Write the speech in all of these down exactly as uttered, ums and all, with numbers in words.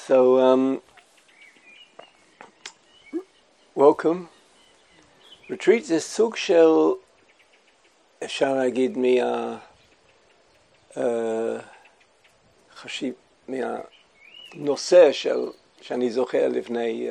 So, um, welcome. Retreat זה סוג של, אפשר להגיד, מה, uh, חשיב, מהנושא של, שאני זוכר לפני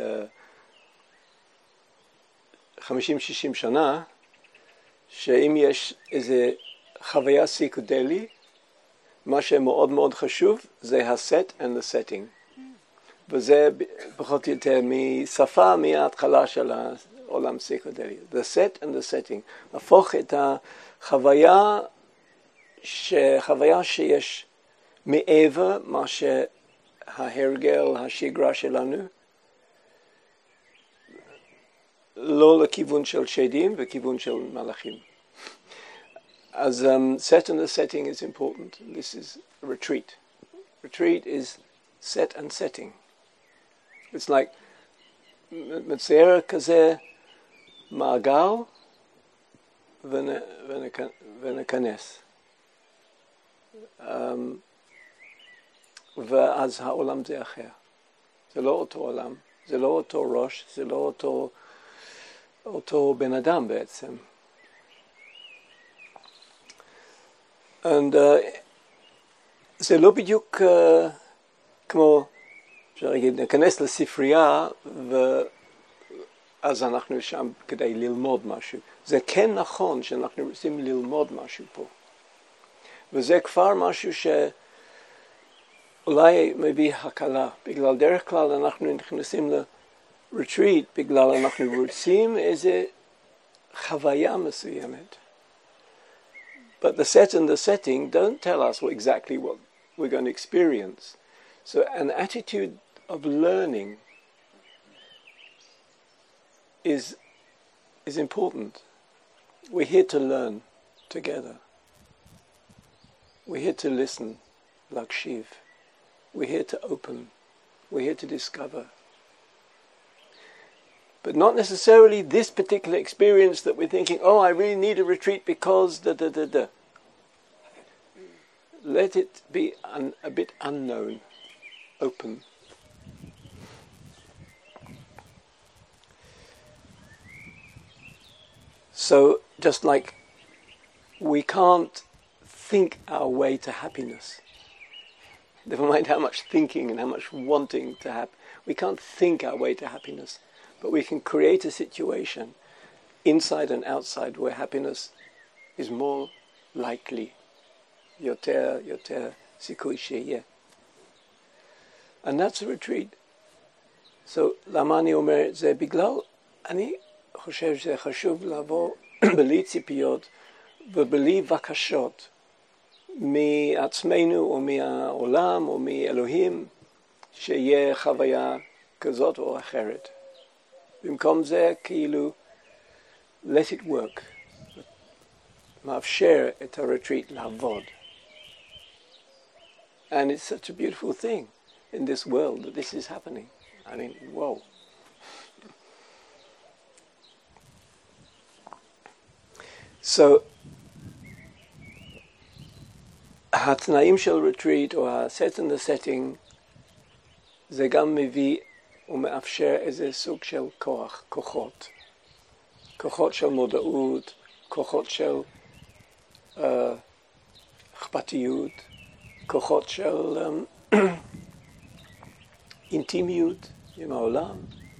חמישים שישים שנה, שאם יש איזה חוויה פסיכודלית, מה שמאוד מאוד חשוב זה ה-set and the setting. וזה פחות או יותר משפה מההתחלה של העולם פסיכודלי. The set and the setting. הפוך את החוויה, חוויה שיש מעבר מה שההרגל, השגרה שלנו, לא לכיוון של שדים וכיוון של מלאכים. As um, set and the setting is important. This is retreat. Retreat is set and setting. It's like מצייר כזה מעגל ונכנס. Um, ואז העולם זה אחר. זה לא אותו עולם, זה לא אותו ראש, זה לא אותו, אותו בן אדם בעצם. And, uh, זה לא בדיוק uh, כמו, אפשר להגיד, נכנס לספרייה ואז אנחנו שם כדי ללמוד משהו. זה כן נכון שאנחנו רוצים ללמוד משהו פה. וזה כבר משהו שאולי מביא הקלה. בגלל דרך כלל אנחנו נכנסים לרטריט, בגלל אנחנו רוצים איזה חוויה מסוימת. But the set and the setting don't tell us what, exactly what we're going to experience. So an attitude of learning is, is important. We're here to learn together. We're here to listen, like Shiv. We're here to open. We're here to discover. But not necessarily this particular experience that we're thinking, oh, I really need a retreat because da da da da. Let it be un, a bit unknown, open. So, just like we can't think our way to happiness, never mind how much thinking and how much wanting to have, we can't think our way to happiness. But we can create a situation inside and outside where happiness is more likely. יותר, יותר סיכוי שיהיה. And that's a retreat. So, למה אני אומר את זה? בגלל, אני חושב שזה חשוב לבוא בלי ציפיות ובלי בקשות מעצמנו או מהעולם או מאלוהים שיהיה חוויה כזאת או אחרת. במקום זה, כאילו, let it work. מאפשר את הרטריט לעבוד. And it's such a beautiful thing in this world that this is happening. I mean, whoa. So, התנאים של רטריט, או ה-set and the setting, זה גם מביא ומאפשר איזה סוג של כוח, כוחות. כוחות של מודעות, כוחות של uh, אכפתיות, כוחות של um, אינטימיות עם העולם,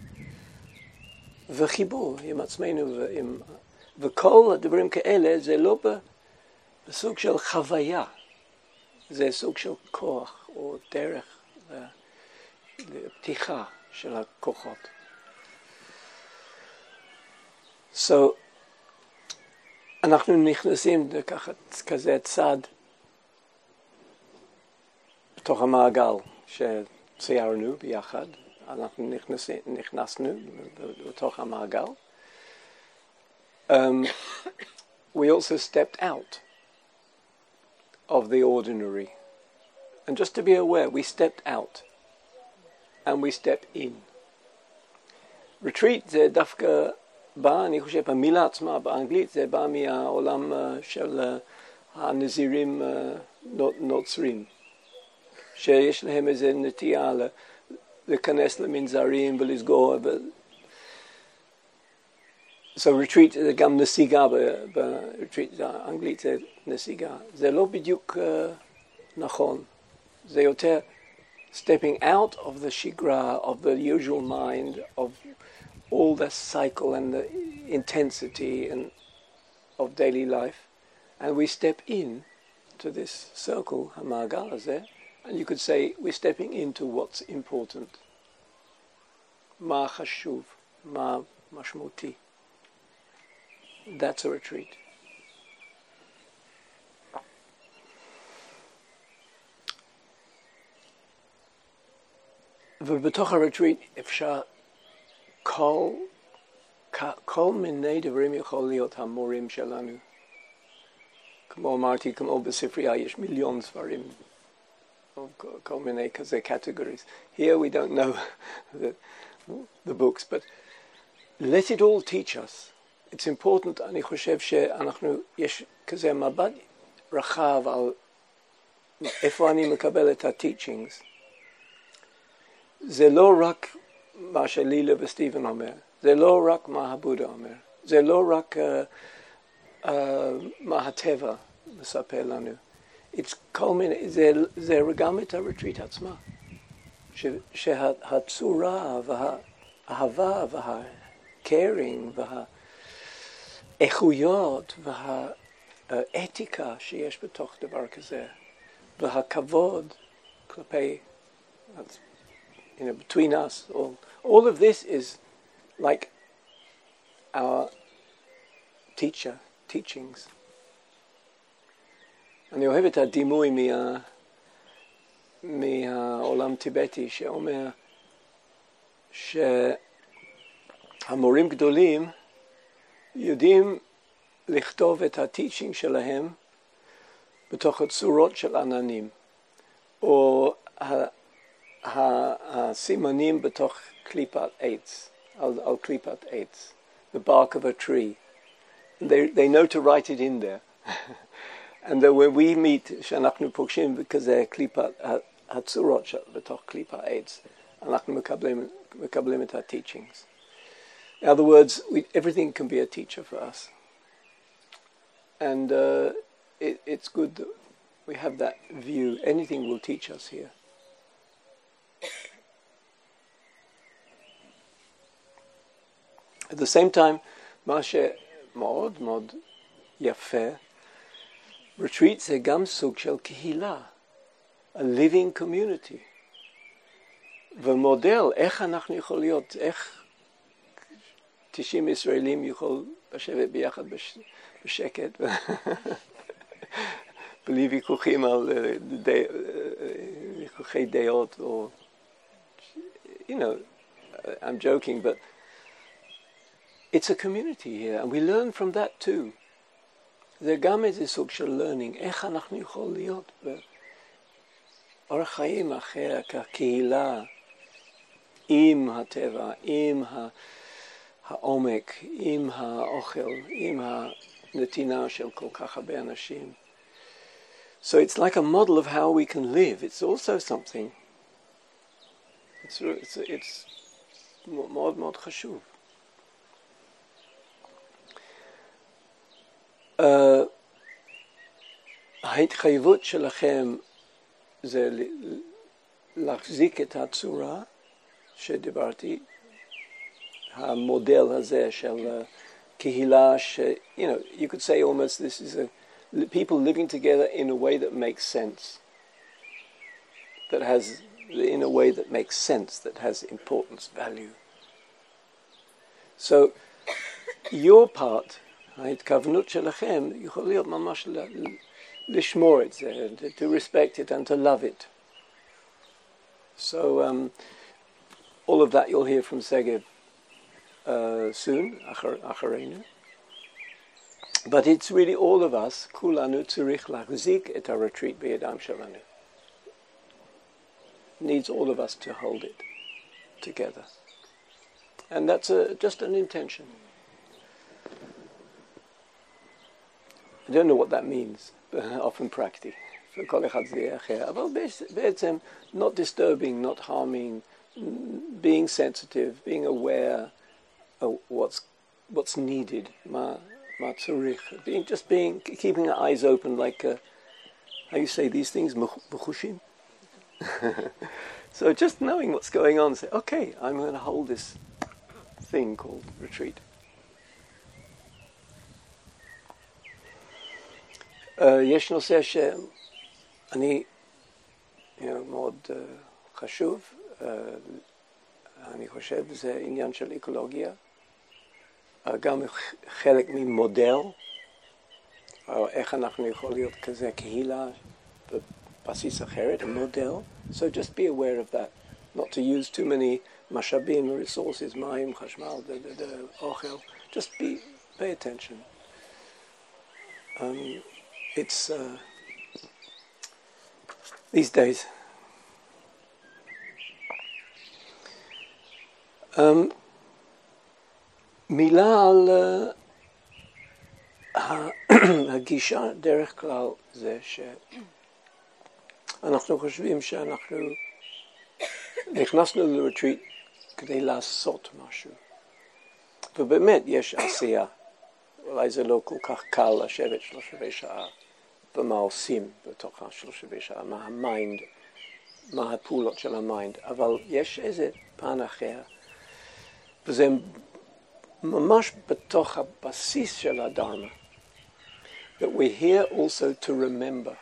וחיבור עם עצמנו, ועם, וכל הדברים כאלה זה לא בסוג של חוויה, זה סוג של כוח או דרך לפתיחה של הכוחות. So, אנחנו נכנסים לקחת כזה צד בתוך המעגל שציירנו ביחד. אנחנו נכנסים, נכנסנו לתוך המעגל. Um, we also stepped out of the ordinary. And just to be aware, we stepped out. And we step in. Retreat זה דווקא בא, אני חושב, המילה עצמה באנגלית זה בא מהעולם של הנזירים נוצרים, שיש להם איזו נטייה להיכנס למנזרים ולסגור. So retreat זה גם נסיגה, ב-retreat האנגלית זה נסיגה. זה לא בדיוק uh, נכון. זה יותר stepping out of the shigra, of the usual mind, of all the cycle and the intensity and of daily life, and we step in to this circle, hamagal hazeh, and you could say we're stepping into what's important. Ma chashuv, ma mashmuti. That's a retreat. ובתוך הריטריט אפשר כל, כל מיני דברים יכול להיות המורים שלנו. כמו אמרתי, כמו בספרייה יש מיליון ספרים, כל, כל מיני כזה categories. Here we don't know the, the books, but let it all teach us. It's important, אני חושב שאנחנו, יש כזה מבט רחב על איפה אני מקבל את ה-teachings. זה לא רק מה שלילה וסטיבן אומר, זה לא רק מה הבודה אומר, זה לא רק uh, uh, מה הטבע מספר לנו. It's כל מיני, זה, זה גם את הריטריט עצמה, ש, שהצורה והאהבה והקיירינג והאיכויות והאתיקה שיש בתוך דבר כזה, והכבוד כלפי, you know, between us, all, all of this is like our teacher, teachings. אני אוהב את הדימוי מה, מהעולם טיבטי שאומר שהמורים גדולים יודעים לכתוב את הטיצ'ינג שלהם בתוך הצורות של עננים, או הסימנים בתוך קליפת עץ, על, על קליפת עץ, the bark of a tree. They, they know to write it in there. And then when we meet, שאנחנו פוגשים בכזה קליפת, הצורות בתוך קליפת עץ, אנחנו מקבלים, מקבלים את ה-teachings. In other words, we, everything can be a teacher for us. And uh, it, it's good that we have that view. Anything will teach us here. At the same time, מה שמאוד מאוד יפה, retreat זה גם סוג של קהילה, a living community. ומודל, איך אנחנו יכול להיות, איך תשעים ישראלים יכול לשבת ביחד בשקט, בלי ויכוחים על ויכוחי דעות, או, you know, I'm joking, but it's a community here, and we learn from that too. זה גם איזה סוג של learning, איך אנחנו יכולים להיות באורח חיים אחר, כקהילה, עם הטבע, עם העומק, עם האוכל, עם הנתינה של כל כך הרבה אנשים. So it's like a model of how we can live. It's also something. It's, it's, it's מאוד מאוד חשוב. Uh, ההתחייבות שלכם זה להחזיק את הצורה שדיברתי, המודל הזה של קהילה ש, you know, you could say almost this is a people living together in a way that makes sense, that has, in a way that makes sense, that has importance, value. So your part, ההתכוונות שלכם יכול להיות ממש לשמור את זה, to respect it and to love it. So um, all of that you'll hear from Segev uh, soon, אחרינו. But it's really all of us, כולנו צריך להחזיק את הretreat בידיים שלנו. Needs all of us to hold it together. And that's a, just an intention. I don't know what that means, often practice. For כל אחד זה יהיה אחר. אבל בעצם, not disturbing, not harming, being sensitive, being aware of what's what's needed, ma ma tzurich, being just being keeping our eyes open, like uh, how you say these things, mechushim. So just knowing what's going on, say, okay, I'm going to hold this thing called retreat. יש נושא שאני, מאוד חשוב, אני חושב, זה עניין של אקולוגיה, גם חלק ממודל, איך אנחנו יכולים להיות כזה קהילה בבסיס אחרת, מודל. So just be aware of that, not to use too many משאבים, resources, מים, חשמל, אוכל. Just be, pay attention. Um, it's uh, these days. Um, מילה על הגישה דרך כלל זה שאנחנו חושבים שאנחנו נכנסנו לרטריט כדי לעשות משהו. ובאמת יש עשייה. אולי זה לא כל כך קל לשבת שלושה רבעי שעה ומה עושים בתוך השלושה רבעי שעה, מה המיינד, מה הפעולות של המיינד, אבל יש איזה פן אחר, וזה ממש בתוך הבסיס של הדרמה, that we're here also to remember,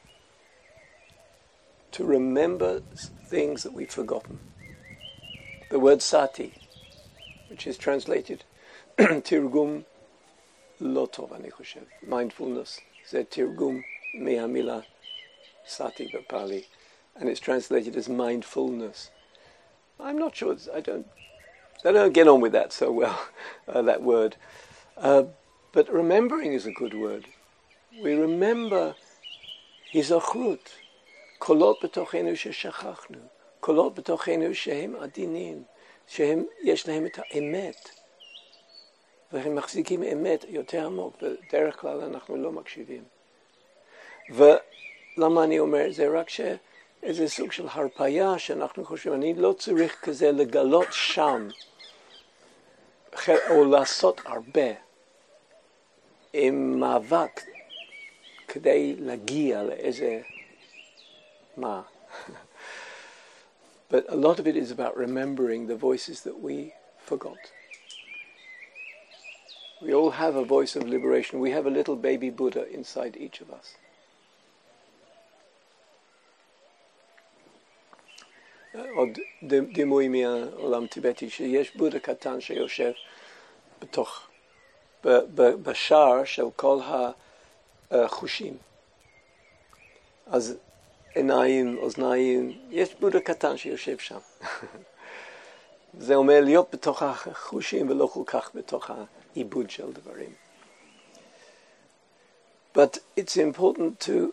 to remember things that we've forgotten. The word sati, which is translated tirgum לא טוב, אני חושב. Mindfulness, זה תרגום מהמילה sati בפאלי, and it's translated as mindfulness. I'm not sure, I don't, I don't get on with that so well, uh, that word. Uh, but remembering is a good word. We remember היזכרות, קולות בתוכנו ששכחנו, קולות בתוכנו שהם עדינים, שהם, יש להם את האמת. והם מחזיקים אמת יותר עמוק, בדרך כלל אנחנו לא מקשיבים. ולמה אני אומר? זה רק שאיזה סוג של הרפאיה שאנחנו חושבים, אני לא צריך כזה לגלות שם, או לעשות הרבה, עם מאבק, כדי להגיע לאיזה, מה? But a lot of it is about remembering the voices that we forgot. We all have a voice of liberation. We have a little baby Buddha inside each of us. עוד דימוי מהעולם טיבטי, שיש בודה קטן שיושב בתוך, בשער של כל החושים. אז עיניים, אוזניים, יש בודה קטן שיושב שם. זה אומר להיות בתוך החושים ולא כל כך בתוך העיבוד של דברים. But it's important to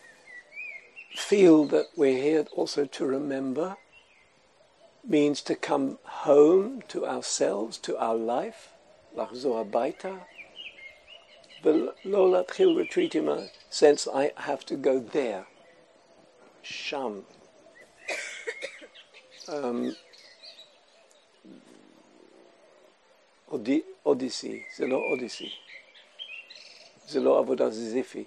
feel that we're here also to remember, means to come home to ourselves, to our life, לחזור הביתה, ולא להתחיל retreat in a sense I have to go there, שם. um, אודי, אודיסי, זה לא אודיסי. זה לא עבודה זיזיפי.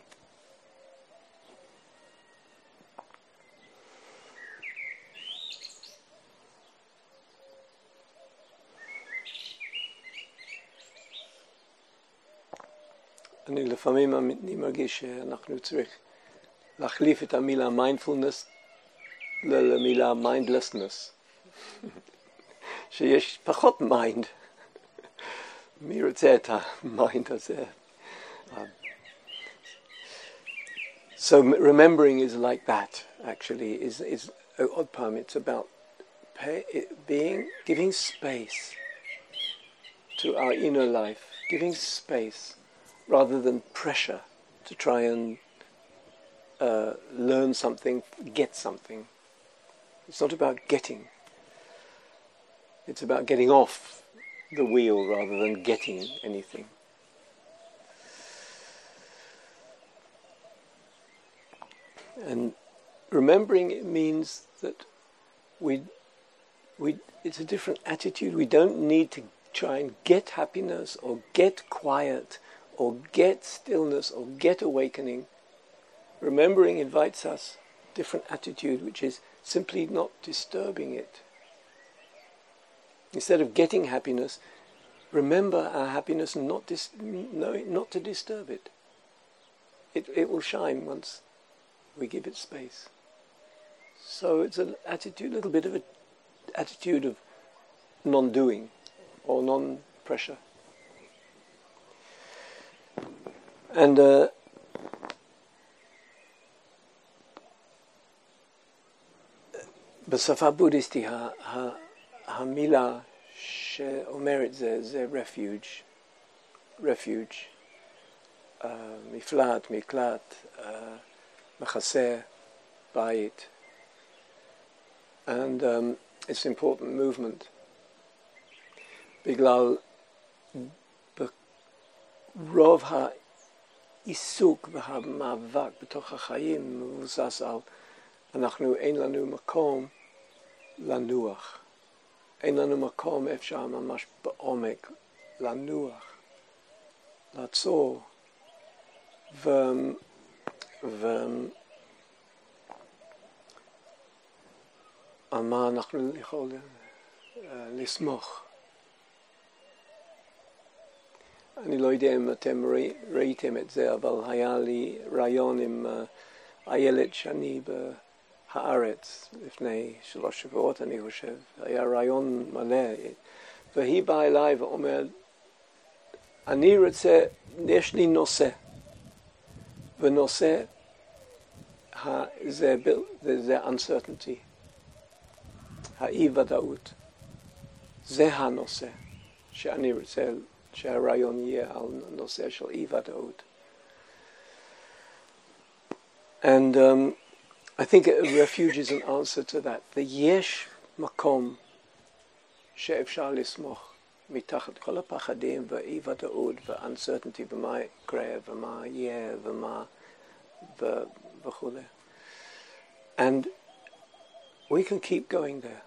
אני לפעמים אני מרגיש שאנחנו צריך להחליף את המילה mindfulness למילה mindlessness. שיש פחות mind. מי רוצה את המיינד הזה? So remembering is like that, actually. Is is odd poem. It's about pay, it being, giving space to our inner life, giving space rather than pressure to try and uh, learn something, get something. It's not about getting. It's about getting off the wheel rather than getting anything. And remembering it means that we we, it's a different attitude. We don't need to try and get happiness or get quiet or get stillness or get awakening. Remembering invites us a different attitude, which is simply not disturbing it. Instead of getting happiness, remember our happiness and not, dis- no, not to disturb it. it. It will shine once we give it space. So it's an attitude, a little bit of an attitude of non-doing or non-pressure. And uh, בשפה בודהיסטית, המילה שאומרת זה, זה refuge, refuge, uh, מפלט, מקלט, uh, מחסה, בית. And um, it's an important movement. בגלל רוב העיסוק והמאבק בתוך החיים מבוסס על אנחנו אין לנו מקום לנוח. אין לנו מקום אפשר ממש בעומק לנוח, לעצור. ו... ו... על מה אנחנו יכולים לסמוך. אני לא יודע אם אתם ראיתם את זה, אבל היה לי רעיון עם איילת שני בהארץ לפני שלוש שבועות, אני חושב. היה רעיון מלא. והיא באה אליי ואומרת, אני רוצה, יש לי נושא. ונושא זה, זה uncertainty. האי ודאות. זה הנושא שאני רוצה שהרעיון יהיה על נושא של אי ודאות. And um, I think a refuge is an answer to that. ויש מקום שאפשר לסמוך מתחת כל הפחדים ואי ודאות ו-uncertainty ומה יקרה ומה יהיה ומה וכו'. And we can keep going there.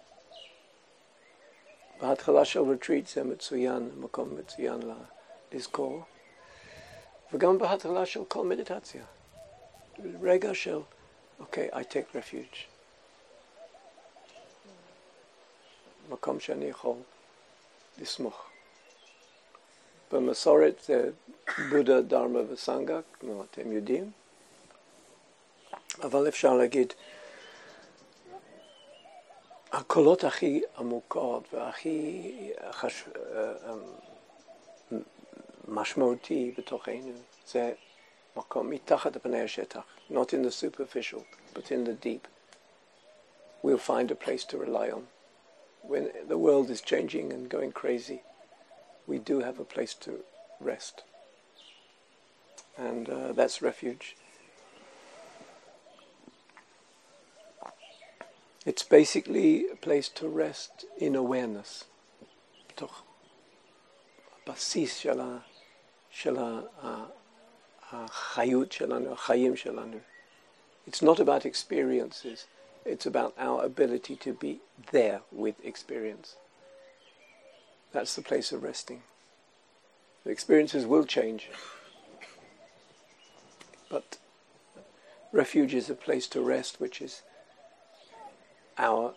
בהתחלה של retreat זה מצוין, מקום מצוין לזכור. וגם בהתחלה של כל מדיטציה. רגע של, אוקיי, I take refuge. מקום שאני יכול לסמוך. במסורת זה בודה, דרמה וסנגה, כמו אתם יודעים. אבל אפשר להגיד, הקולות הכי עמוקות והכי חש... משמעותי בתוכנו זה מקום מתחת לפני השטח, not in the superficial, but in the deep. We'll find a place to rely on. When the world is changing and going crazy, we do have a place to rest. And uh, that's refuge. It's basically a place to rest in awareness. בתוך הבסיס של ה... של ה... החיות שלנו, החיים שלנו. It's not about experiences. It's about our ability to be there with experience. That's the place of resting. The experiences will change. But refuge is a place to rest, which is our,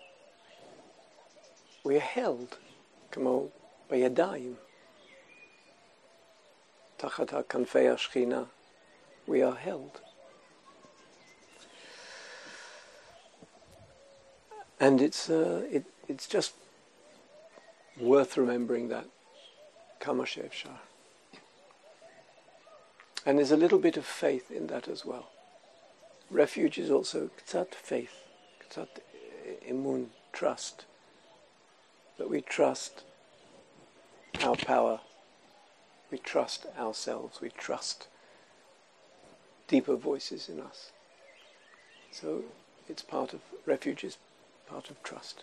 we are held, כמו בידיים, תחת כנפי השכינה, we are held. And it's uh, it, it's just worth remembering that, כמה שאפשר. And there's a little bit of faith in that as well. Refuge is also קצת faith, קצת imun, trust, that we trust our power, we trust ourselves, we trust deeper voices in us. So it's part of, refuge is part of trust.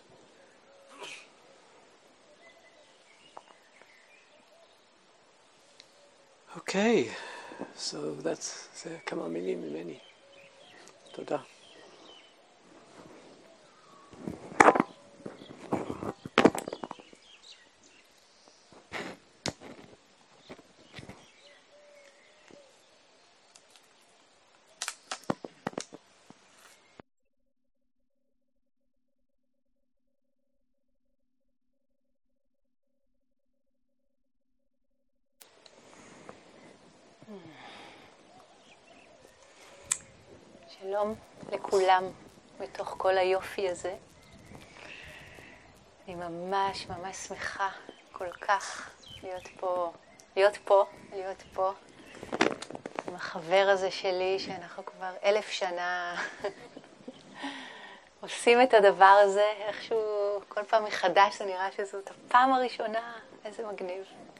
Okay, so that's זה כמה מילים ממני. תודה. שלום לכולם בתוך כל היופי הזה. אני ממש ממש שמחה כל כך להיות פה, להיות פה, להיות פה עם החבר הזה שלי שאנחנו כבר אלף שנה עושים את הדבר הזה, איכשהו כל פעם מחדש זה נראה שזאת הפעם הראשונה, איזה מגניב.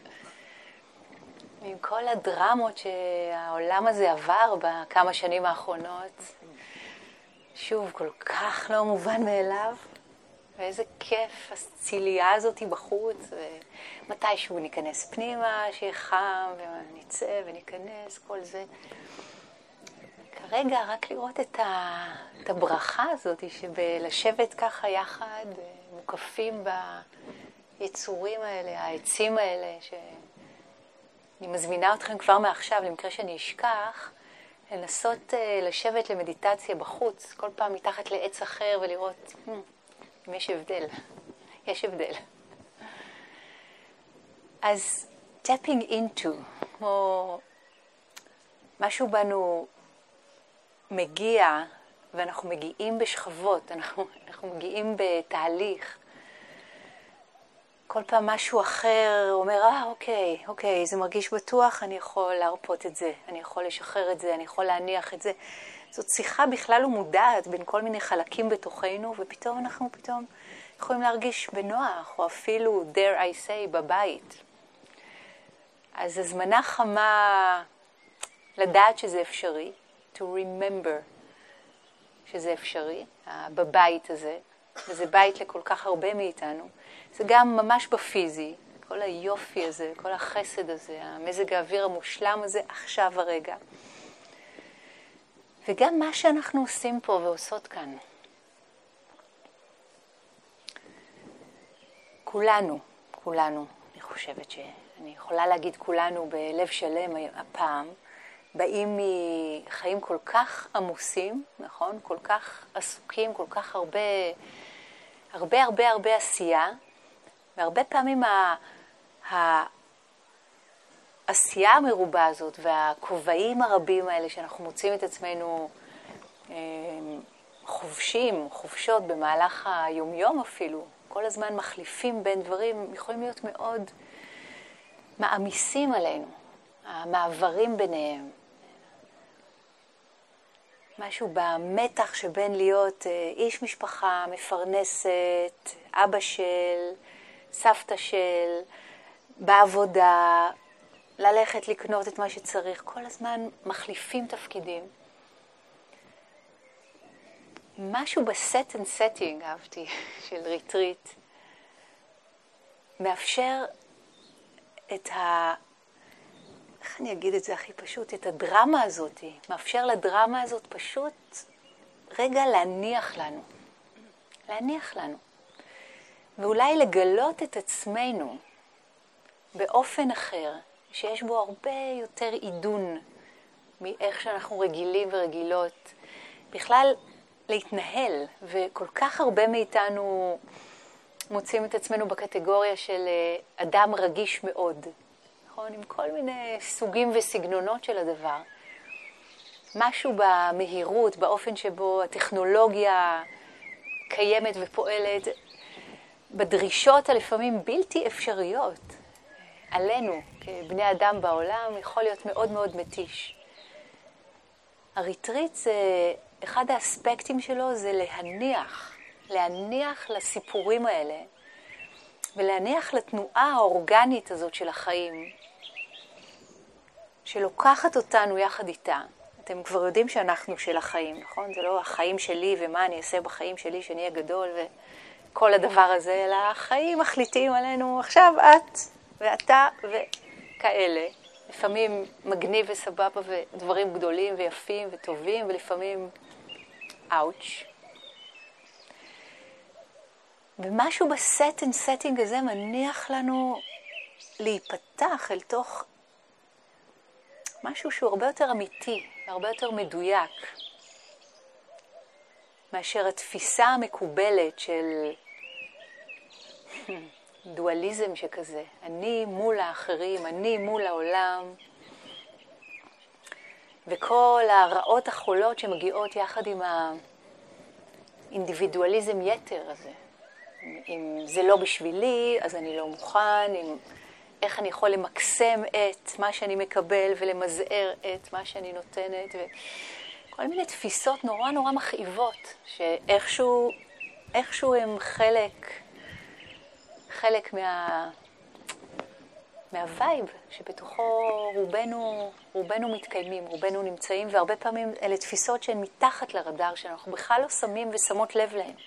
עם כל הדרמות שהעולם הזה עבר בכמה שנים האחרונות, שוב, כל כך לא מובן מאליו, ואיזה כיף הציליה הזאת בחוץ, ומתישהו ניכנס פנימה, שיהיה חם, ונצא וניכנס, כל זה. כרגע רק לראות את, ה... את הברכה הזאת, שבלשבת ככה יחד, מוקפים ביצורים האלה, העצים האלה, ש... אני מזמינה אתכם כבר מעכשיו, למקרה שאני אשכח, לנסות uh, לשבת למדיטציה בחוץ, כל פעם מתחת לעץ אחר ולראות hmm, אם יש הבדל. יש הבדל. אז tapping into, כמו משהו בנו מגיע, ואנחנו מגיעים בשכבות, אנחנו, אנחנו מגיעים בתהליך. כל פעם משהו אחר אומר, אה, אוקיי, אוקיי, זה מרגיש בטוח, אני יכול להרפות את זה, אני יכול לשחרר את זה, אני יכול להניח את זה. זאת שיחה בכלל לא מודעת בין כל מיני חלקים בתוכנו, ופתאום אנחנו פתאום יכולים להרגיש בנוח, או אפילו, dare I say, בבית. אז הזמנה חמה לדעת שזה אפשרי, to remember שזה אפשרי, בבית הזה, וזה בית לכל כך הרבה מאיתנו. זה גם ממש בפיזי, כל היופי הזה, כל החסד הזה, המזג האוויר המושלם הזה, עכשיו הרגע. וגם מה שאנחנו עושים פה ועושות כאן. כולנו, כולנו, אני חושבת שאני יכולה להגיד כולנו בלב שלם הפעם, באים מחיים כל כך עמוסים, נכון? כל כך עסוקים, כל כך הרבה, הרבה הרבה הרבה עשייה, והרבה פעמים העשייה המרובה הזאת והכובעים הרבים האלה שאנחנו מוצאים את עצמנו חובשים, חובשות במהלך היומיום אפילו, כל הזמן מחליפים בין דברים, יכולים להיות מאוד מעמיסים עלינו, המעברים ביניהם. משהו במתח שבין להיות איש משפחה, מפרנסת, אבא של, סבתא של, בעבודה, ללכת לקנות את מה שצריך, כל הזמן מחליפים תפקידים. משהו בסט אנד סטינג, אהבתי, של ריטריט, מאפשר את ה... איך אני אגיד את זה הכי פשוט? את הדרמה הזאת, מאפשר לדרמה הזאת פשוט רגע להניח לנו. להניח לנו. ואולי לגלות את עצמנו באופן אחר, שיש בו הרבה יותר עידון מאיך שאנחנו רגילים ורגילות. בכלל להתנהל, וכל כך הרבה מאיתנו מוצאים את עצמנו בקטגוריה של אדם רגיש מאוד. נכון? עם כל מיני סוגים וסגנונות של הדבר. משהו במהירות, באופן שבו הטכנולוגיה קיימת ופועלת, בדרישות הלפעמים בלתי אפשריות עלינו כבני אדם בעולם, יכול להיות מאוד מאוד מתיש. הריטריט זה, אחד האספקטים שלו זה להניח, להניח לסיפורים האלה, ולהניח לתנועה האורגנית הזאת של החיים, שלוקחת אותנו יחד איתה. אתם כבר יודעים שאנחנו של החיים, נכון? זה לא החיים שלי ומה אני אעשה בחיים שלי שאני אהיה גדול וכל הדבר הזה, אלא החיים מחליטים עלינו עכשיו את ואתה וכאלה. לפעמים מגניב וסבבה ודברים גדולים ויפים וטובים, ולפעמים אאוץ'. ומשהו בסט אנד סטינג הזה מניח לנו להיפתח אל תוך משהו שהוא הרבה יותר אמיתי, הרבה יותר מדויק, מאשר התפיסה המקובלת של דואליזם שכזה. אני מול האחרים, אני מול העולם. וכל הרעות החולות שמגיעות יחד עם האינדיבידואליזם יתר הזה. אם זה לא בשבילי, אז אני לא מוכן, אם, איך אני יכול למקסם את מה שאני מקבל ולמזער את מה שאני נותנת, וכל מיני תפיסות נורא נורא מכאיבות, שאיכשהו איכשהו הם חלק, חלק מה, מהווייב שבתוכו רובנו, רובנו מתקיימים, רובנו נמצאים, והרבה פעמים אלה תפיסות שהן מתחת לרדאר שאנחנו בכלל לא שמים ושמות לב להן.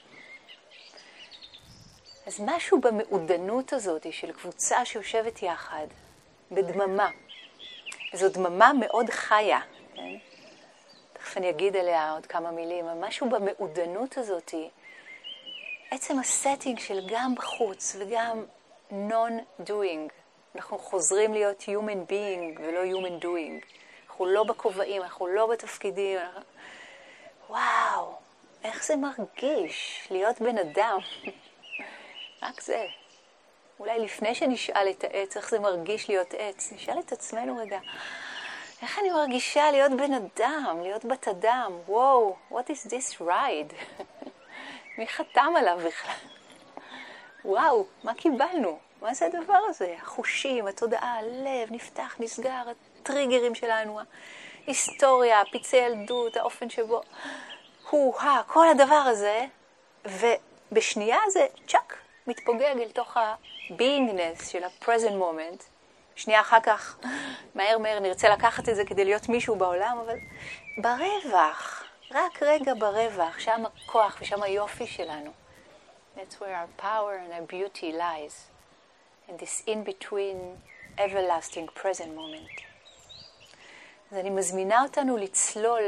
אז משהו במעודנות הזאת של קבוצה שיושבת יחד, בדממה, וזו דממה מאוד חיה, כן? תכף אני אגיד עליה עוד כמה מילים, אבל משהו במעודנות הזאת, עצם הסטינג של גם בחוץ וגם non-doing, אנחנו חוזרים להיות human being ולא human doing, אנחנו לא בכובעים, אנחנו לא בתפקידים, אנחנו... וואו, איך זה מרגיש להיות בן אדם. רק זה. אולי לפני שנשאל את העץ, איך זה מרגיש להיות עץ, נשאל את עצמנו רגע, איך אני מרגישה להיות בן אדם, להיות בת אדם? וואו, what is this ride? מי חתם עליו בכלל? וואו, מה קיבלנו? מה זה הדבר הזה? החושים, התודעה, הלב, נפתח, נסגר, הטריגרים שלנו, ההיסטוריה, פיצי ילדות, האופן שבו, הו-ה, כל הדבר הזה, ובשנייה זה צ'ק, מתפוגג אל תוך ה-beingness של ה-present moment. שנייה אחר כך, מהר מהר נרצה לקחת את זה כדי להיות מישהו בעולם, אבל ברווח, רק רגע ברווח, שם הכוח ושם היופי שלנו. That's where our power and our beauty lies. In this in-between, everlasting present moment. אז אני מזמינה אותנו לצלול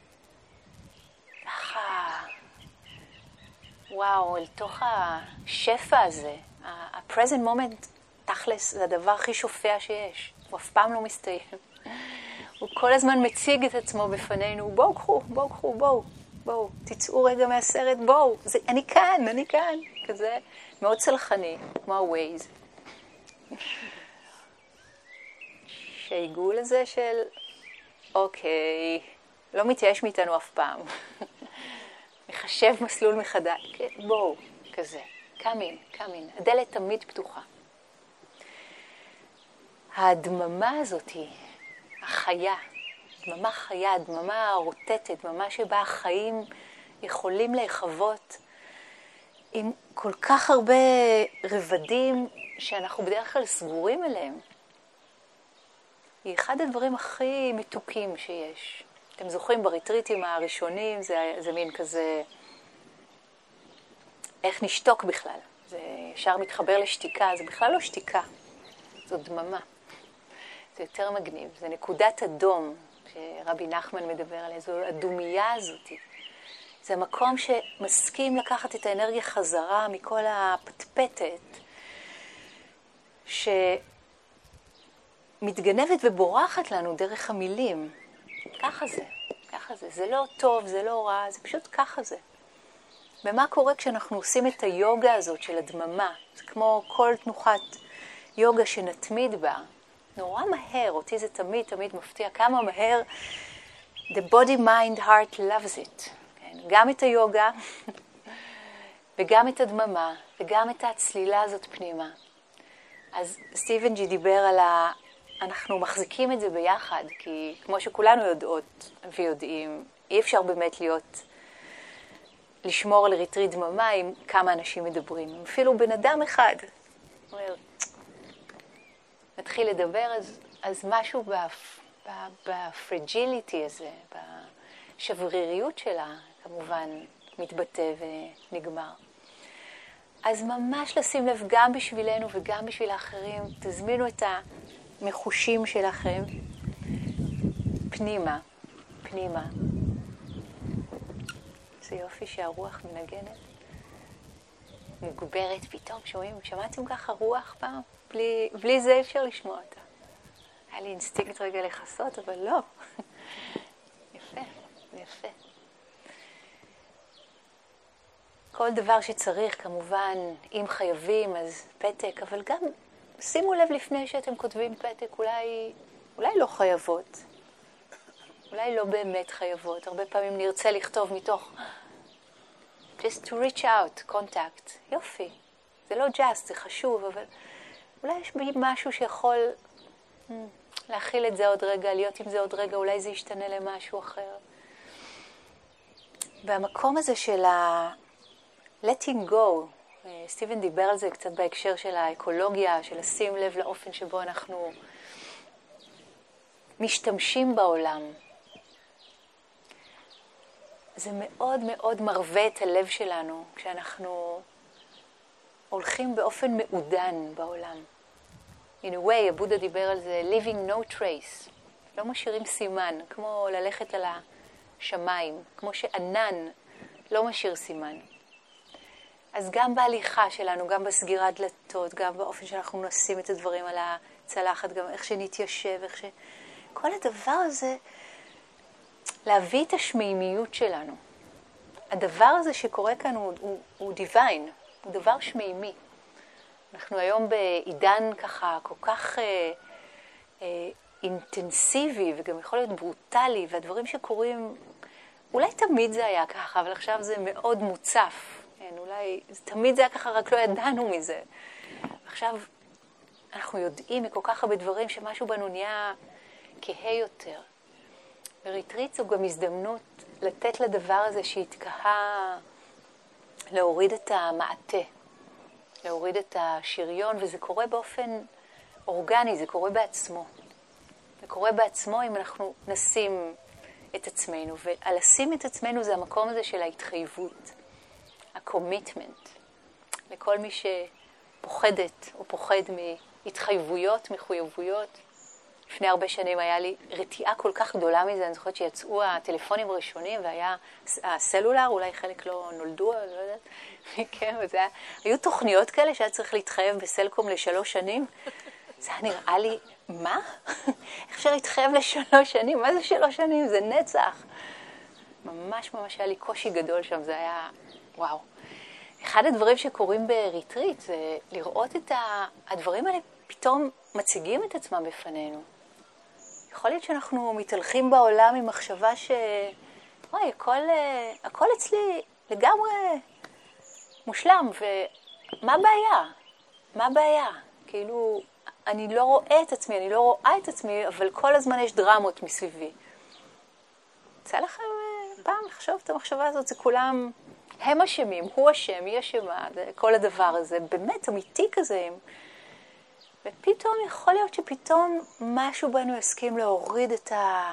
ככה, וואו, אל תוך השפע הזה. ה-present moment, תכלס, זה הדבר הכי שופע שיש. הוא אף פעם לא מסתיים. הוא כל הזמן מציג את עצמו בפנינו, בואו קחו, בואו קחו, בואו, בואו, תצאו רגע מהסרט, בואו, זה, אני כאן, אני כאן, כזה מאוד צלחני, כמו ה-Waze. שהעיגול הזה של, אוקיי, לא מתייאש מאיתנו אף פעם. מחשב מסלול מחדש, בואו, כזה, קאמין, קאמין, הדלת תמיד פתוחה. הדממה הזאת היא החיה, דממה חיה, דממה רוטטת, דממה שבה החיים יכולים להיחוות עם כל כך הרבה רבדים שאנחנו בדרך כלל סגורים אליהם. היא אחד הדברים הכי מתוקים שיש. אתם זוכרים בריטריטים הראשונים, זה, זה מין כזה, איך נשתוק בכלל. זה ישר מתחבר לשתיקה, זה בכלל לא שתיקה, זו דממה. זה יותר מגניב, זה נקודת אדום שרבי נחמן מדבר עליה, זו הדומייה הזאת. זה מקום שמסכים לקחת את האנרגיה חזרה מכל הפטפטת, שמתגנבת ובורחת לנו דרך המילים. ככה זה, ככה זה. זה לא טוב, זה לא רע, זה פשוט ככה זה. ומה קורה כשאנחנו עושים את היוגה הזאת של הדממה? זה כמו כל תנוחת יוגה שנתמיד בה. נורא מהר, אותי זה תמיד תמיד מפתיע כמה מהר the body mind heart loves it. כן? גם את היוגה וגם את הדממה וגם את הצלילה הזאת פנימה. אז סטיבן ג'י דיבר על ה... אנחנו מחזיקים את זה ביחד, כי כמו שכולנו יודעות ויודעים, אי אפשר באמת להיות, לשמור על ריטריט דממה עם כמה אנשים מדברים. אפילו בן אדם אחד אומר, מתחיל לדבר, אז, אז משהו בפרג'יליטי הזה, בשבריריות שלה, כמובן מתבטא ונגמר. אז ממש לשים לב גם בשבילנו וגם בשביל האחרים, תזמינו את המחושים שלכם פנימה, פנימה. זה יופי שהרוח מנגנת, מוגברת פתאום, שומעים, שמעתם ככה רוח פעם? בלי, בלי זה אפשר לשמוע אותה. היה לי אינסטינקט רגע לחסות, אבל לא. יפה, יפה. כל דבר שצריך, כמובן, אם חייבים, אז פתק, אבל גם שימו לב לפני שאתם כותבים פתק, אולי, אולי לא חייבות. אולי לא באמת חייבות. הרבה פעמים נרצה לכתוב מתוך just to reach out, contact. יופי. זה לא just, זה חשוב, אבל אולי יש בי משהו שיכול hmm, להכיל את זה עוד רגע, להיות עם זה עוד רגע, אולי זה ישתנה למשהו אחר. והמקום הזה של ה- letting go, סטיבן דיבר על זה קצת בהקשר של האקולוגיה, של לשים לב לאופן שבו אנחנו משתמשים בעולם. זה מאוד מאוד מרווה את הלב שלנו כשאנחנו הולכים באופן מעודן בעולם. In a way, הבודה דיבר על זה, leaving no trace. לא משאירים סימן, כמו ללכת על השמיים, כמו שענן לא משאיר סימן. אז גם בהליכה שלנו, גם בסגירת דלתות, גם באופן שאנחנו נשים את הדברים על הצלחת, גם איך שנתיישב, איך ש... כל הדבר הזה, להביא את השמימיות שלנו. הדבר הזה שקורה כאן הוא, הוא, הוא דיוויין, הוא דבר שמימי. אנחנו היום בעידן ככה כל כך אה, אה, אינטנסיבי וגם יכול להיות ברוטלי, והדברים שקורים, אולי תמיד זה היה ככה, אבל עכשיו זה מאוד מוצף. כן, אולי תמיד זה היה ככה, רק לא ידענו מזה. עכשיו אנחנו יודעים מכל כך הרבה דברים שמשהו בנו נהיה כהה יותר. וריטריט זו גם הזדמנות לתת לדבר הזה שהתקהה, להוריד את המעטה, להוריד את השריון, וזה קורה באופן אורגני, זה קורה בעצמו. זה קורה בעצמו אם אנחנו נשים את עצמנו, ולשים את עצמנו זה המקום הזה של ההתחייבות, הקומיטמנט. לכל מי שפוחדת או פוחד מהתחייבויות, מחויבויות. לפני הרבה שנים היה לי רתיעה כל כך גדולה מזה, אני זוכרת שיצאו הטלפונים הראשונים והיה הסלולר, אולי חלק לא נולדו, אני לא יודעת, כן, וזה היה, היו תוכניות כאלה שהיה צריך להתחייב בסלקום לשלוש שנים, זה היה נראה לי, מה? איך אפשר להתחייב לשלוש שנים? מה זה שלוש שנים? זה נצח. ממש ממש היה לי קושי גדול שם, זה היה, וואו. אחד הדברים שקורים בריטריט זה לראות את הדברים האלה פתאום מציגים את עצמם בפנינו. יכול להיות שאנחנו מתהלכים בעולם עם מחשבה ש... וואי, הכל, הכל אצלי לגמרי מושלם, ומה הבעיה? מה הבעיה? כאילו, אני לא רואה את עצמי, אני לא רואה את עצמי, אבל כל הזמן יש דרמות מסביבי. יצא לכם פעם לחשוב את המחשבה הזאת, זה כולם, הם אשמים, הוא אשם, היא אשמה, כל הדבר הזה, באמת אמיתי כזה. ופתאום יכול להיות שפתאום משהו בנו יסכים להוריד את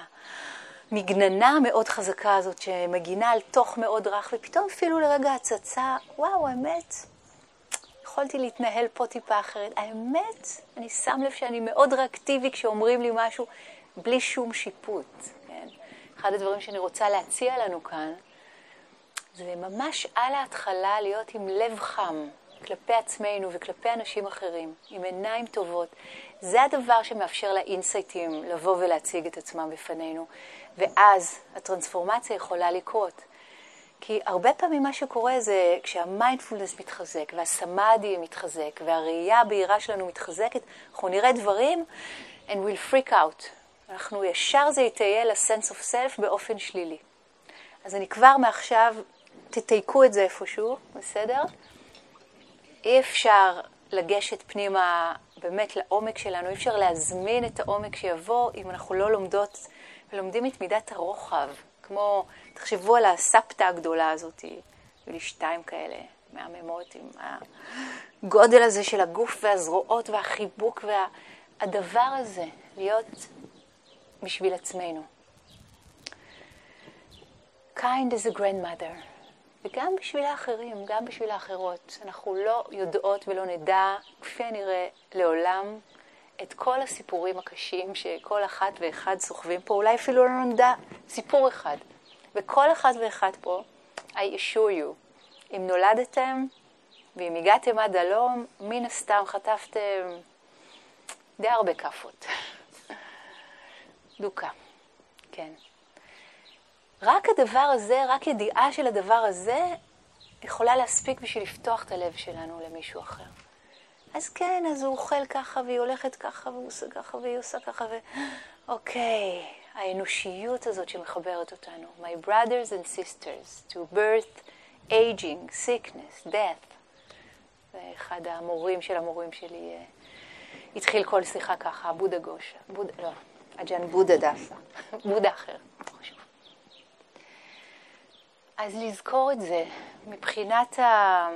המגננה המאוד חזקה הזאת שמגינה על תוך מאוד רך, ופתאום אפילו לרגע הצצה, וואו, האמת, יכולתי להתנהל פה טיפה אחרת. האמת, אני שם לב שאני מאוד ריאקטיבי כשאומרים לי משהו בלי שום שיפוט. כן? אחד הדברים שאני רוצה להציע לנו כאן, זה ממש על ההתחלה להיות עם לב חם כלפי עצמנו וכלפי אנשים אחרים, עם עיניים טובות. זה הדבר שמאפשר לאינסייטים לבוא ולהציג את עצמם בפנינו, ואז הטרנספורמציה יכולה לקרות. כי הרבה פעמים מה שקורה זה כשהמיינדפולנס מתחזק והסמאדי מתחזק והראייה הבהירה שלנו מתחזקת, אנחנו נראה דברים and we'll freak out. אנחנו ישר זה יתהיה ל-sense of self באופן שלילי. אז אני כבר מעכשיו, תתייקו את זה איפשהו, בסדר? אי אפשר לגשת פנימה באמת לעומק שלנו, אי אפשר להזמין את העומק שיבוא אם אנחנו לא לומדות ולומדים את מידת הרוחב. כמו, תחשבו על הספטה הגדולה הזאת, היו לי שתיים כאלה מהממות עם הגודל הזה של הגוף והזרועות והחיבוק והדבר הזה, להיות בשביל עצמנו. Kind is a grandmother. וגם בשביל האחרים, גם בשביל האחרות. אנחנו לא יודעות ולא נדע, כפי הנראה לעולם, את כל הסיפורים הקשים שכל אחת ואחד סוחבים פה. אולי אפילו לא נדע סיפור אחד. וכל אחד ואחד פה, I assure you, אם נולדתם ואם הגעתם עד הלום, מן הסתם חטפתם די הרבה כפות. דוקה, כן. רק הדבר הזה, רק ידיעה של הדבר הזה, יכולה להספיק בשביל לפתוח את הלב שלנו למישהו אחר. אז כן, אז הוא אוכל ככה, והיא הולכת ככה, והוא עושה ככה, והיא עושה ככה, ו... אוקיי, האנושיות הזאת שמחברת אותנו. My brothers and sisters, to birth, aging, sickness, death. זה אחד המורים של המורים שלי. התחיל כל שיחה ככה, בודה גושה. בודה, לא, אג'ן בודה דסה. בודה אחר. חשוב. אז לזכור את זה, מבחינת ה...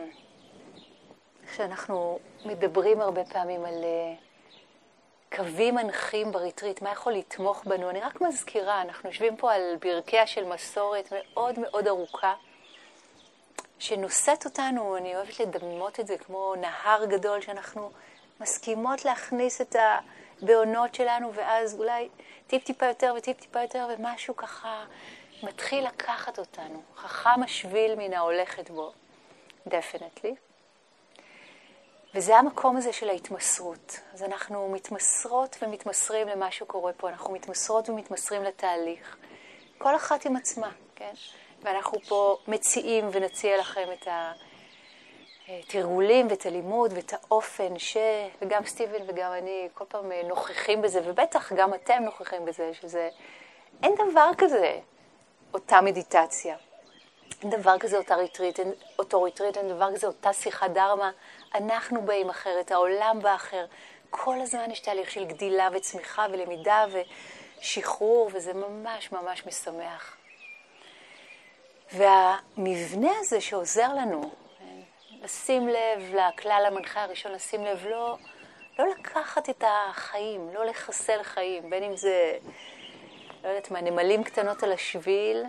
שאנחנו מדברים הרבה פעמים על קווים מנחים בריטריט, מה יכול לתמוך בנו? אני רק מזכירה, אנחנו יושבים פה על ברכיה של מסורת מאוד מאוד ארוכה, שנושאת אותנו, אני אוהבת לדמות את זה כמו נהר גדול, שאנחנו מסכימות להכניס את הבעונות שלנו, ואז אולי טיפ טיפה יותר וטיפ טיפה יותר, ומשהו ככה מתחיל לקחת אותנו. חכם השביל מן ההולכת בו, definitely. וזה המקום הזה של ההתמסרות. אז אנחנו מתמסרות ומתמסרים למה שקורה פה. אנחנו מתמסרות ומתמסרים לתהליך. כל אחת עם עצמה, כן? ואנחנו פה מציעים ונציע לכם את התרגולים ואת הלימוד ואת האופן ש... וגם סטיבן וגם אני כל פעם נוכחים בזה, ובטח גם אתם נוכחים בזה, שזה... אין דבר כזה אותה מדיטציה. אין דבר כזה אותה ריטריט, אין אותו ריטריט, אין דבר כזה אותה שיחת דרמה. אנחנו באים אחרת, העולם בא אחר. כל הזמן יש תהליך של גדילה וצמיחה ולמידה ושחרור, וזה ממש ממש משמח. והמבנה הזה שעוזר לנו, לשים לב לכלל המנחה הראשון, לשים לב לא, לא לקחת את החיים, לא לחסל חיים, בין אם זה, לא יודעת מה, נמלים קטנות על השביל,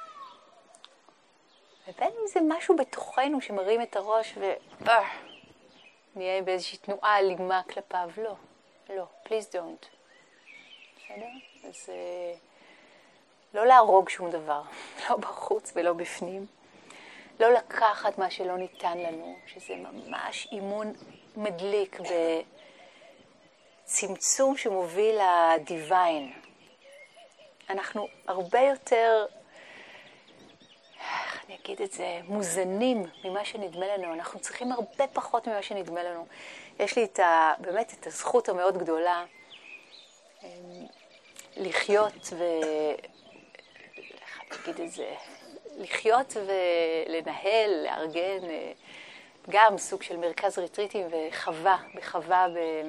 ובין אם זה משהו בתוכנו שמרים את הראש ו... נהיה באיזושהי תנועה אלימה כלפיו. לא, לא, please don't. בסדר? אז לא להרוג שום דבר, לא בחוץ ולא בפנים. לא לקחת מה שלא ניתן לנו, שזה ממש אימון מדליק בצמצום שמוביל לדיוויין. אנחנו הרבה יותר... איך אני אגיד את זה, מוזנים ממה שנדמה לנו. אנחנו צריכים הרבה פחות ממה שנדמה לנו. יש לי את ה, באמת את הזכות המאוד גדולה לחיות ו... איך אני אגיד את זה? לחיות ולנהל, לארגן, גם סוג של מרכז ריטריטים וחווה, בחווה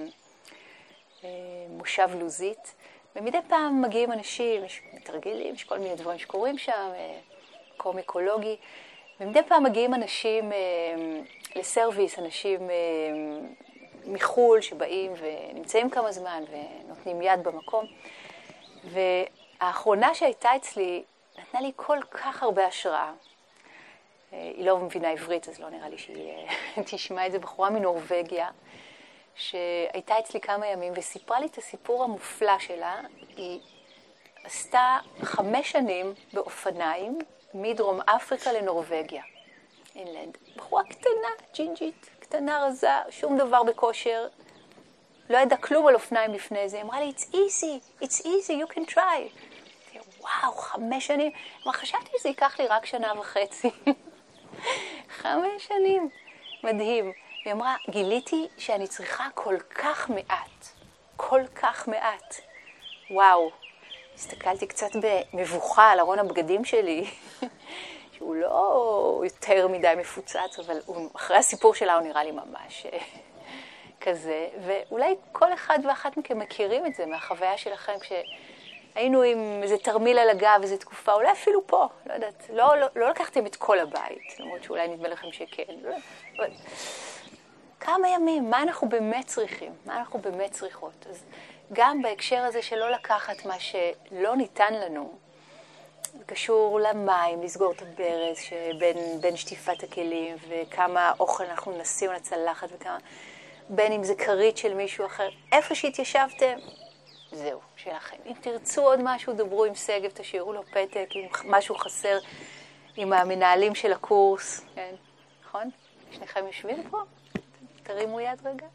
במושב לוזית. ומדי פעם מגיעים אנשים, יש מתרגלים, יש כל מיני דברים שקורים שם, מקום אקולוגי, ומדי פעם מגיעים אנשים אה, לסרוויס, אנשים אה, מחול שבאים ונמצאים כמה זמן ונותנים יד במקום. והאחרונה שהייתה אצלי נתנה לי כל כך הרבה השראה. אה, היא לא מבינה עברית, אז לא נראה לי שהיא אה, תשמע את זה, בחורה מנורווגיה, שהייתה אצלי כמה ימים וסיפרה לי את הסיפור המופלא שלה. היא עשתה חמש שנים באופניים, מדרום אפריקה לנורווגיה, אינלנד. בחורה קטנה, ג'ינג'ית, קטנה רזה, שום דבר בכושר. לא ידע כלום על אופניים לפני זה. היא אמרה לי, it's easy, it's easy, you can try. וואו, חמש שנים. אמרה, חשבתי שזה ייקח לי רק שנה וחצי. חמש שנים. מדהים. והיא אמרה, גיליתי שאני צריכה כל כך מעט. כל כך מעט. וואו. הסתכלתי קצת במבוכה על ארון הבגדים שלי, שהוא לא יותר מדי מפוצץ, אבל הוא, אחרי הסיפור שלה הוא נראה לי ממש כזה. ואולי כל אחד ואחת מכם מכירים את זה מהחוויה שלכם, כשהיינו עם איזה תרמיל על הגב, איזו תקופה, אולי אפילו פה, לא יודעת, לא, לא, לא לקחתם את כל הבית, למרות שאולי נדמה לכם שכן. לא, אבל... כמה ימים, מה אנחנו באמת צריכים? מה אנחנו באמת צריכות? אז גם בהקשר הזה שלא לקחת מה שלא ניתן לנו, זה קשור למים, לסגור את הברז שבין, בין שטיפת הכלים, וכמה אוכל אנחנו נשים על הצלחת, וכמה, בין אם זה קרית של מישהו אחר, איפה שהתיישבתם, זהו, שלכם. אם תרצו עוד משהו, דברו עם סגב, תשאירו לו פתק, אם משהו חסר עם המנהלים של הקורס, כן, נכון? שניכם יושבים פה? תרימו יד רגע.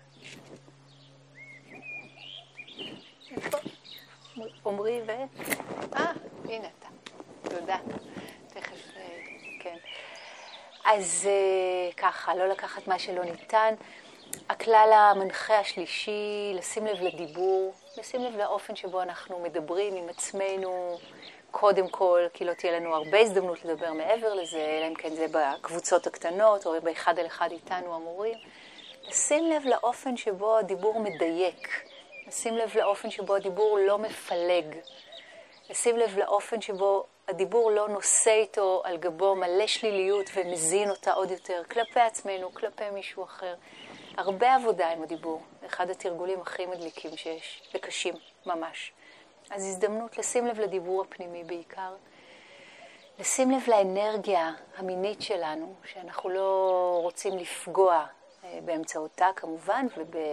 איפה? עומרי ו... אה, הנה אתה. תודה. תכף, כן. אז ככה, לא לקחת מה שלא ניתן. הכלל המנחה השלישי, לשים לב לדיבור. לשים לב לאופן שבו אנחנו מדברים עם עצמנו, קודם כל, כי לא תהיה לנו הרבה הזדמנות לדבר מעבר לזה, אלא אם כן זה בקבוצות הקטנות, או באחד על אחד איתנו המורים. לשים לב לאופן שבו הדיבור מדייק, לשים לב לאופן שבו הדיבור לא מפלג, לשים לב לאופן שבו הדיבור לא נושא איתו על גבו מלא שליליות ומזין אותה עוד יותר, כלפי עצמנו, כלפי מישהו אחר. הרבה עבודה עם הדיבור, אחד התרגולים הכי מדליקים שיש, וקשים ממש. אז הזדמנות לשים לב לדיבור הפנימי בעיקר, לשים לב לאנרגיה המינית שלנו, שאנחנו לא רוצים לפגוע באמצעותה כמובן,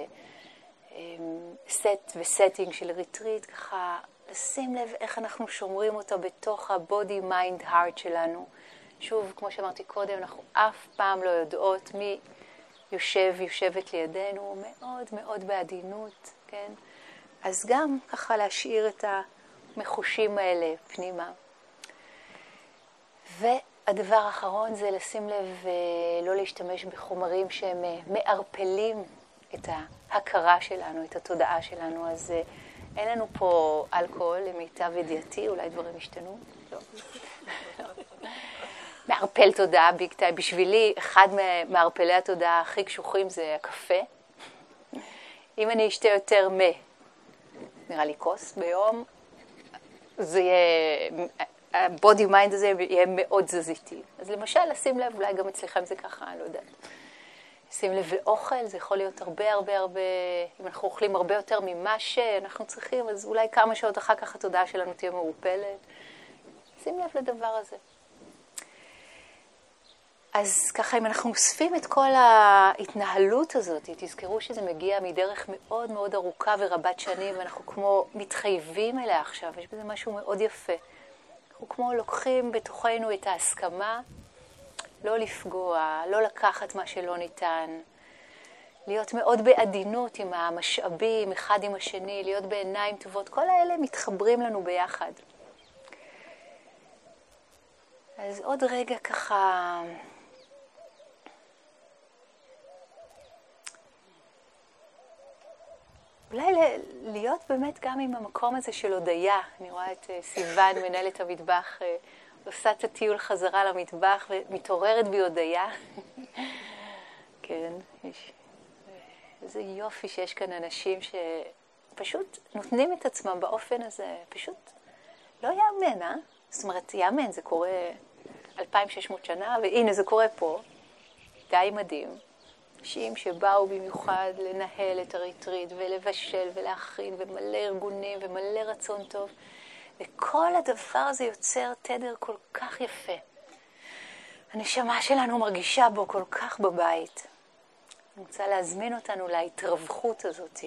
ובסט וסטינג של ריטריט, ככה לשים לב איך אנחנו שומרים אותה בתוך ה-body, mind, heart שלנו. שוב, כמו שאמרתי קודם, אנחנו אף פעם לא יודעות מי יושב, יושבת לידינו, מאוד מאוד בעדינות, כן? אז גם ככה להשאיר את המחושים האלה פנימה. והדבר האחרון זה לשים לב לא להשתמש בחומרים שהם מערפלים את ההכרה שלנו, את התודעה שלנו. אז אין לנו פה אלכוהול, למיטב ידיעתי, אולי דברים ישתנו. לא. מערפל תודעה ביג טיים. בשבילי, אחד מערפלי התודעה הכי קשוחים זה הקפה. אם אני אשתה יותר מ... נראה לי כוס ביום, זה יהיה, הבודי מיינד הזה יהיה מאוד זזיתי. אז למשל, לשים לב, אולי גם אצלכם זה ככה, אני לא יודעת. לשים לב לאוכל, זה יכול להיות הרבה הרבה הרבה, אם אנחנו אוכלים הרבה יותר ממה שאנחנו צריכים, אז אולי כמה שעות אחר כך התודעה שלנו תהיה מעורפלת. שים לב לדבר הזה. אז ככה, אם אנחנו אוספים את כל ההתנהלות הזאת, תזכרו שזה מגיע מדרך מאוד מאוד ארוכה ורבת שנים, ואנחנו כמו מתחייבים אליה עכשיו, יש בזה משהו מאוד יפה. אנחנו כמו לוקחים בתוכנו את ההסכמה, לא לפגוע, לא לקחת מה שלא ניתן, להיות מאוד בעדינות עם המשאבים, אחד עם השני, להיות בעיניים טובות, כל האלה מתחברים לנו ביחד. אז עוד רגע ככה... אולי להיות באמת גם עם המקום הזה של הודיה. אני רואה את סיוון, מנהלת המטבח, עושה את הטיול חזרה למטבח ומתעוררת בי הודיה. כן, יש... איזה יופי שיש כאן אנשים שפשוט נותנים את עצמם באופן הזה. פשוט לא יאמן, אה? זאת אומרת, יאמן, זה קורה אלפיים ושש מאות שנה, והנה זה קורה פה. די מדהים. אנשים שבאו במיוחד לנהל את הריטריט ולבשל ולהכין ומלא ארגונים ומלא רצון טוב. וכל הדבר הזה יוצר תדר כל כך יפה. הנשמה שלנו מרגישה בו כל כך בבית. אני רוצה להזמין אותנו להתרווחות הזאת.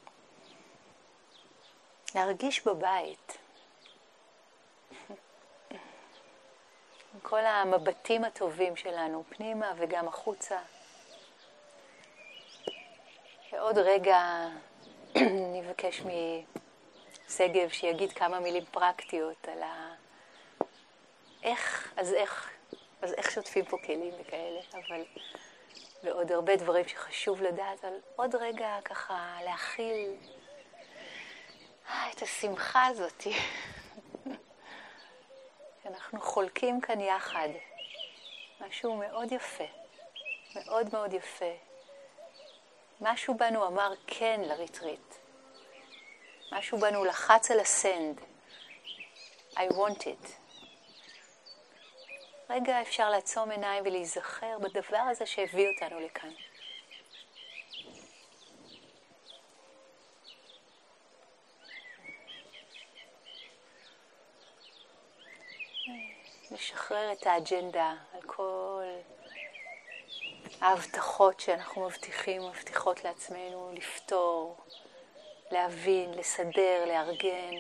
להרגיש בבית. כל המבטים הטובים שלנו, פנימה וגם החוצה. ועוד רגע נבקש מסגב שיגיד כמה מילים פרקטיות על ה... איך, אז איך, אז איך שוטפים פה כלים וכאלה, אבל... ועוד הרבה דברים שחשוב לדעת, אבל עוד רגע ככה להכיל את השמחה הזאת. אנחנו חולקים כאן יחד. משהו מאוד יפה, מאוד מאוד יפה. משהו בנו אמר כן לריטריט. משהו בנו לחץ על הסנד. I want it. רגע אפשר לעצום עיניים ולהיזכר בדבר הזה שהביא אותנו לכאן. לשחרר את האג'נדה על כל ההבטחות שאנחנו מבטיחים, מבטיחות לעצמנו, לפתור, להבין, לסדר, לארגן.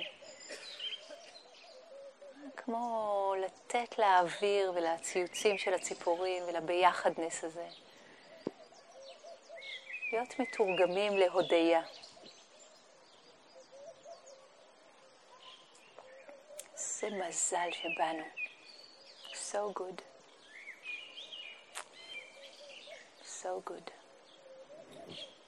כמו לתת לאוויר ולציוצים של הציפורים ולביחדנס הזה. להיות מתורגמים להודיה. זה מזל שבאנו. So good. So good.